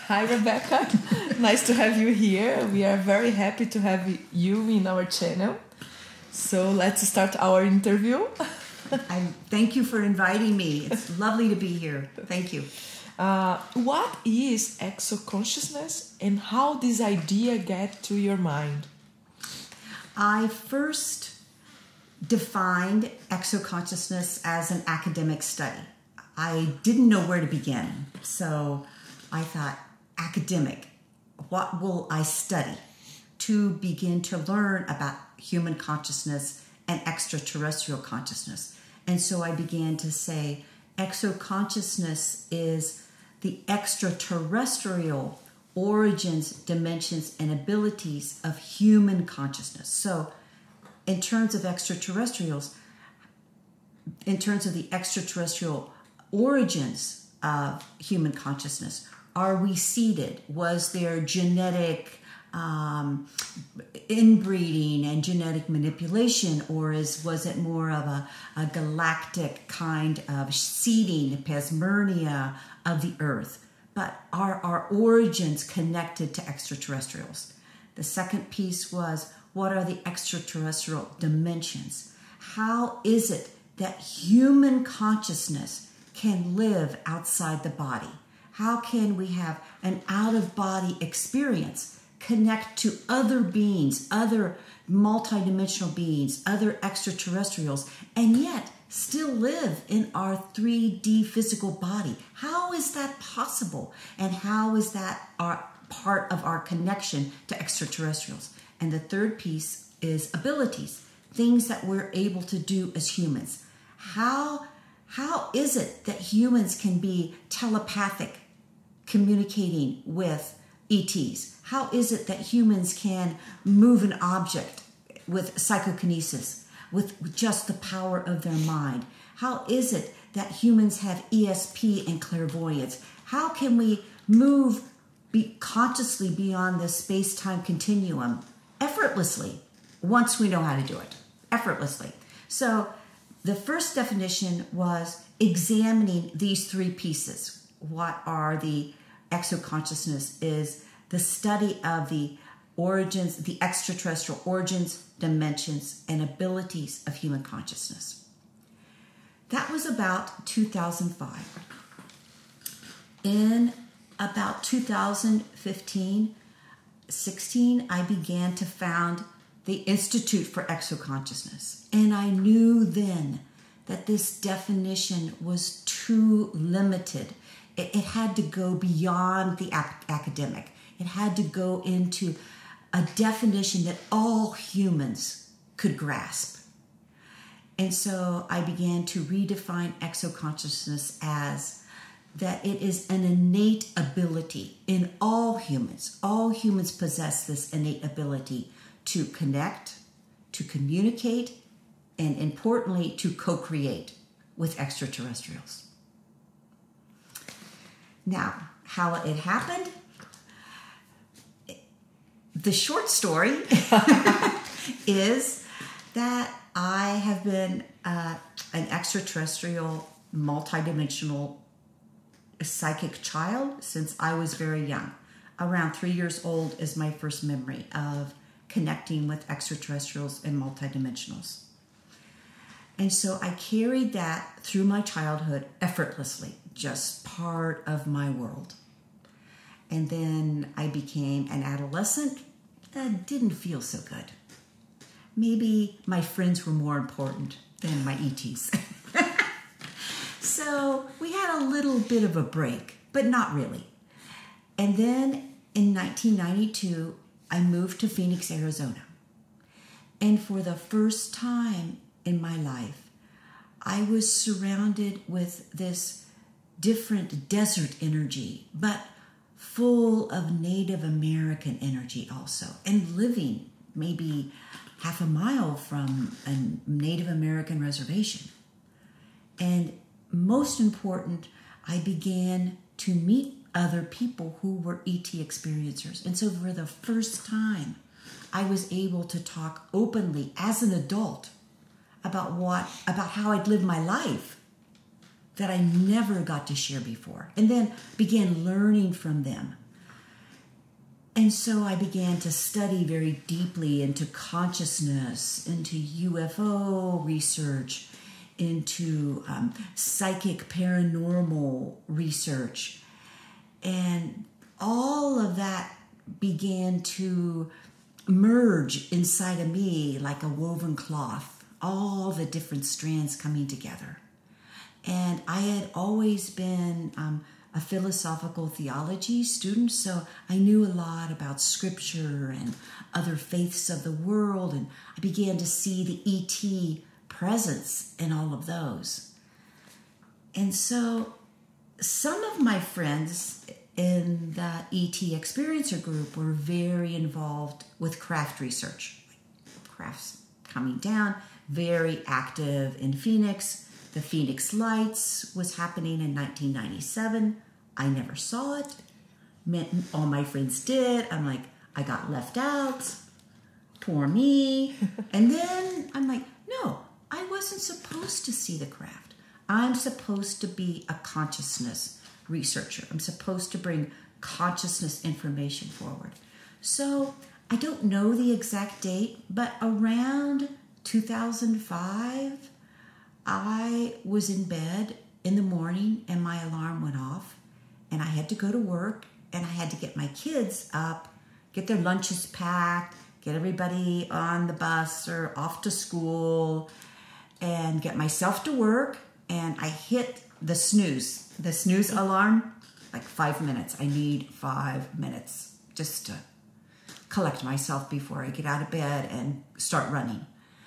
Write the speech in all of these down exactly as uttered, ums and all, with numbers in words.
Hi, Rebecca. Nice to have you here. We are very happy to have you in our channel. So let's start our interview. I thank you for inviting me. It's lovely to be here. Thank you. Uh, what is exo-consciousness and how this idea get to your mind? I first defined exo-consciousness as an academic study. I didn't know where to begin. So I thought, academic, what will I study to begin to learn about human consciousness and extraterrestrial consciousness? And so I began to say, exo-consciousness is the extraterrestrial origins, dimensions, and abilities of human consciousness. So in terms of extraterrestrials, in terms of the extraterrestrial origins of human consciousness, are we seeded? Was there genetic um, inbreeding and genetic manipulation, or is was it more of a, a galactic kind of seeding, pasmernia of the earth? But are our origins connected to extraterrestrials? The second piece was, what are the extraterrestrial dimensions? How is it that human consciousness can live outside the body? How can we have an out-of-body experience, connect to other beings, other multidimensional beings, other extraterrestrials, and yet still live in our three D physical body? How is that possible? And how is that our part of our connection to extraterrestrials? And the third piece is abilities, things that we're able to do as humans. How, how is it that humans can be telepathic, communicating with E Ts? How is it that humans can move an object with psychokinesis, with just the power of their mind? How is it that humans have E S P and clairvoyance? How can we move be consciously beyond the space-time continuum effortlessly once we know how to do it? Effortlessly. So the first definition was examining these three pieces. What are the exo-consciousness is the study of the origins, the extraterrestrial origins, dimensions, and abilities of human consciousness. That was about two thousand five. In about two thousand fifteen, sixteen, I began to found the Institute for Exo-Consciousness. And I knew then that this definition was too limited. It, it had to go beyond the ac- academic. It had to go into a definition that all humans could grasp. And so I began to redefine exo-consciousness as that it is an innate ability in all humans. All humans possess this innate ability to connect, to communicate, and importantly, to co-create with extraterrestrials. Now, how it happened? The short story is that I have been uh, an extraterrestrial, multidimensional psychic child since I was very young. Around three years old is my first memory of connecting with extraterrestrials and multidimensionals. And so I carried that through my childhood effortlessly, just part of my world. And then I became an adolescent. That didn't feel so good. Maybe my friends were more important than my E Ts. So we had a little bit of a break, but not really. And then in nineteen ninety-two, I moved to Phoenix, Arizona. And for the first time in my life, I was surrounded with this different desert energy, but full of Native American energy also, and living maybe half a mile from a Native American reservation. And most important, I began to meet other people who were E T experiencers. And so for the first time, I was able to talk openly as an adult about what, about how I'd lived my life that I never got to share before. And then began learning from them And so I began to study very deeply into consciousness, into U F O research, into um, psychic paranormal research. And all of that began to merge inside of me like a woven cloth, all the different strands coming together. And I had always been um, a philosophical theology student, so I knew a lot about scripture and other faiths of the world, and I began to see the E T presence in all of those. And so some of my friends in the E T Experiencer group were very involved with craft research. Crafts coming down, very active in Phoenix. The Phoenix Lights was happening in nineteen ninety-seven. I never saw it. All my friends did. I'm like, I got left out. Poor me. And then I'm like, no, I wasn't supposed to see the craft. I'm supposed to be a consciousness researcher. I'm supposed to bring consciousness information forward. So I don't know the exact date, but around two thousand five, I was in bed in the morning and my alarm went off and I had to go to work and I had to get my kids up, get their lunches packed, get everybody on the bus or off to school, and get myself to work. And I hit the snooze, the snooze alarm, like five minutes. I need five minutes just to collect myself before I get out of bed and start running.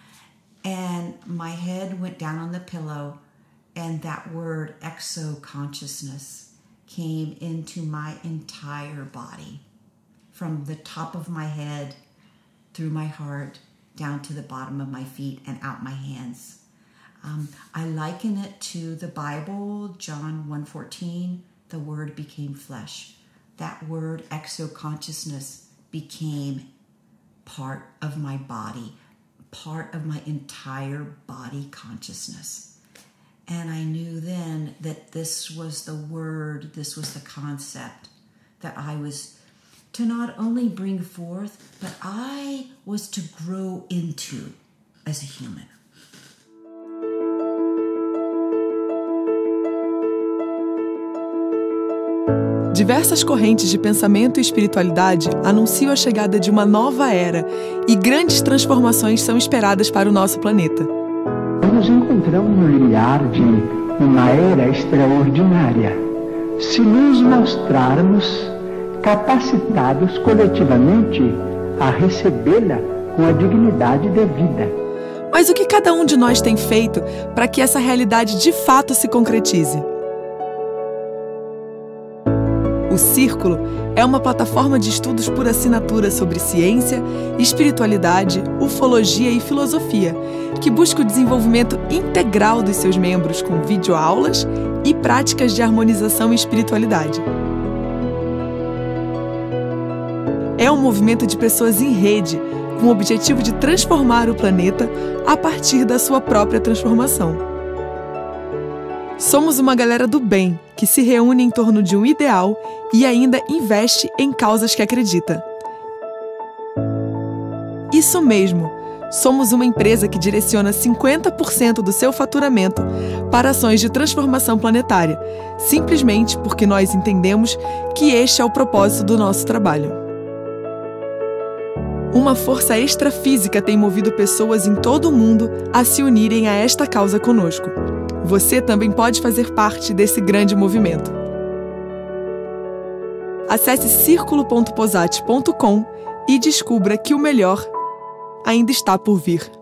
And my head went down on the pillow, and that word exo-consciousness came into my entire body, from the top of my head, through my heart, down to the bottom of my feet and out my hands. Um, I liken it to the Bible, John one fourteen, the word became flesh. That word exo-consciousness became part of my body, part of my entire body consciousness. And I knew then that this was the word, this was the concept that I was to not only bring forth, but I was to grow into as a human. Diversas correntes de pensamento e espiritualidade anunciam a chegada de uma nova era e grandes transformações são esperadas para o nosso planeta. Nos encontramos no limiar de uma era extraordinária, se nos mostrarmos capacitados coletivamente a recebê-la com a dignidade devida. Mas o que cada um de nós tem feito para que essa realidade de fato se concretize? O Círculo é uma plataforma de estudos por assinatura sobre ciência, espiritualidade, ufologia e filosofia, que busca o desenvolvimento integral dos seus membros com videoaulas e práticas de harmonização e espiritualidade. É um movimento de pessoas em rede, com o objetivo de transformar o planeta a partir da sua própria transformação. Somos uma galera do bem, que se reúne em torno de um ideal e ainda investe em causas que acredita. Isso mesmo, somos uma empresa que direciona cinquenta por cento do seu faturamento para ações de transformação planetária, simplesmente porque nós entendemos que este é o propósito do nosso trabalho. Uma força extrafísica tem movido pessoas em todo o mundo a se unirem a esta causa conosco. Você também pode fazer parte desse grande movimento. Acesse círculo ponto posati ponto com e descubra que o melhor ainda está por vir.